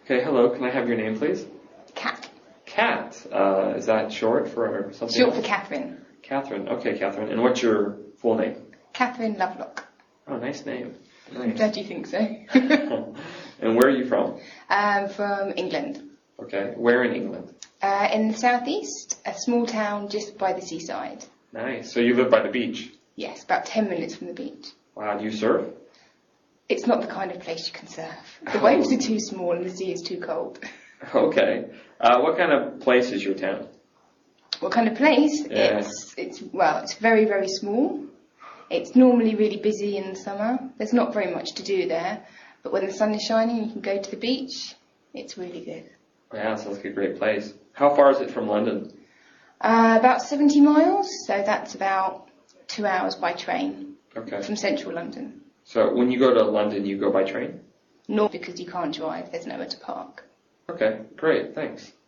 Okay, hello. Can I have your name, please? Cat. Kat. Is that short for something Short else? for Catherine. Catherine. Okay, Catherine. And what's your full name? Catherine Lovelock. Oh, nice name. I'm Nice. glad you think so. And where are you from? From England. Okay. Where in England? In the southeast, a small town just by the seaside. Nice. So you live by the beach? Yes, about 10 minutes from the beach. Wow. Do you surf? It's not the kind of place you can surf. The Oh. waves are too small and the sea is too cold. Okay. What kind of place is your town? What kind of place? Yeah. It's very, very small. It's normally really busy in the summer. There's not very much to do there. But when the sun is shining, you can go to the beach. It's really good. Yeah, sounds like a great place. How far is it from London? About 70 miles, so that's about 2 hours by train Okay. from central London. So when you go to London, you go by train? Not because you can't drive, there's nowhere to park. Okay, great. Thanks.